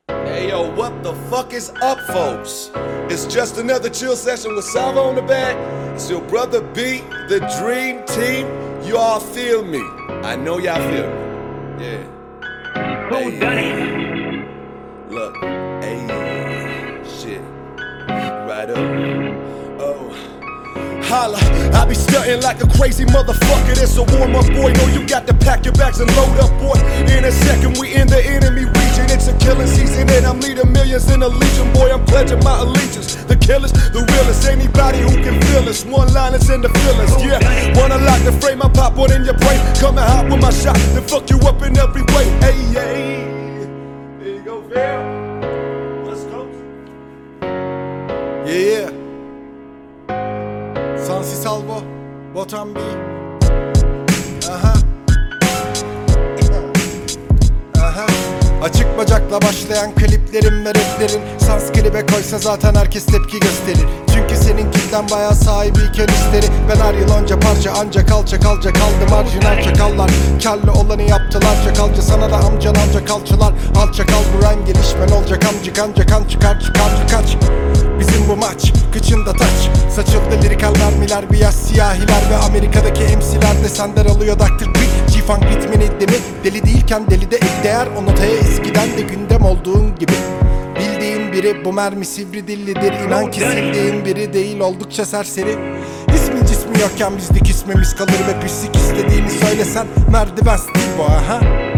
Hey yo, what the fuck is up, folks? It's just another chill session with Salvo on the back. It's your brother B, the dream team. You all feel me. I know y'all feel me. Yeah. Who done it? Look, hey, shit. Right up. Oh. Holla, I be stunting like a crazy motherfucker. That's a warm up, boy. Know you got to pack your bags and load up, boy. In a second, we in the enemy region. It's a killing season, and I'm leading millions in a legion, boy. I'm pledging my allegiance. The killers, the realest, anybody who can feel us. One liners and the fillers, yeah. Wanna lock the frame, I pop one in your brain. Coming hot with my shot, then fuck you up in every way. Hey, hey. There you go, Phil. Let's go. Yeah. Sansi Salvo, Botan B. Aha. Aha. Açık bacakla başlayan kliplerin ve raplerin sans klibe koysa zaten herkes tepki gösterir. Çünkü senin kitlen bayağı sahibiyken isteri. Ben her yıl önce parça ancak alça kalca kaldı marjinal çakallar. Karlı olanı yaptılar çakalca, sana da amcan kalçılar. Alça kal buran gelişmen olacak amcık ancak kan çıkar kaç. Bizim bu maç kıçında taç. Saçıldı lirikal mermiler, beyaz siyahiler ve Amerika'daki MC'ler de senden alıyor Dr. Dre. G-Funk ritmini demi, deli değilken deli de ek değer. O notaya eskiden de gündem olduğun gibi. Bildiğin biri bu mermi sivri dillidir. İnan ki sildiğin biri değil, oldukça serseri. İsmin cismi yokken bizlik ismimiz kalır ve pislik istediğini söylesen merdiven stil bu aha.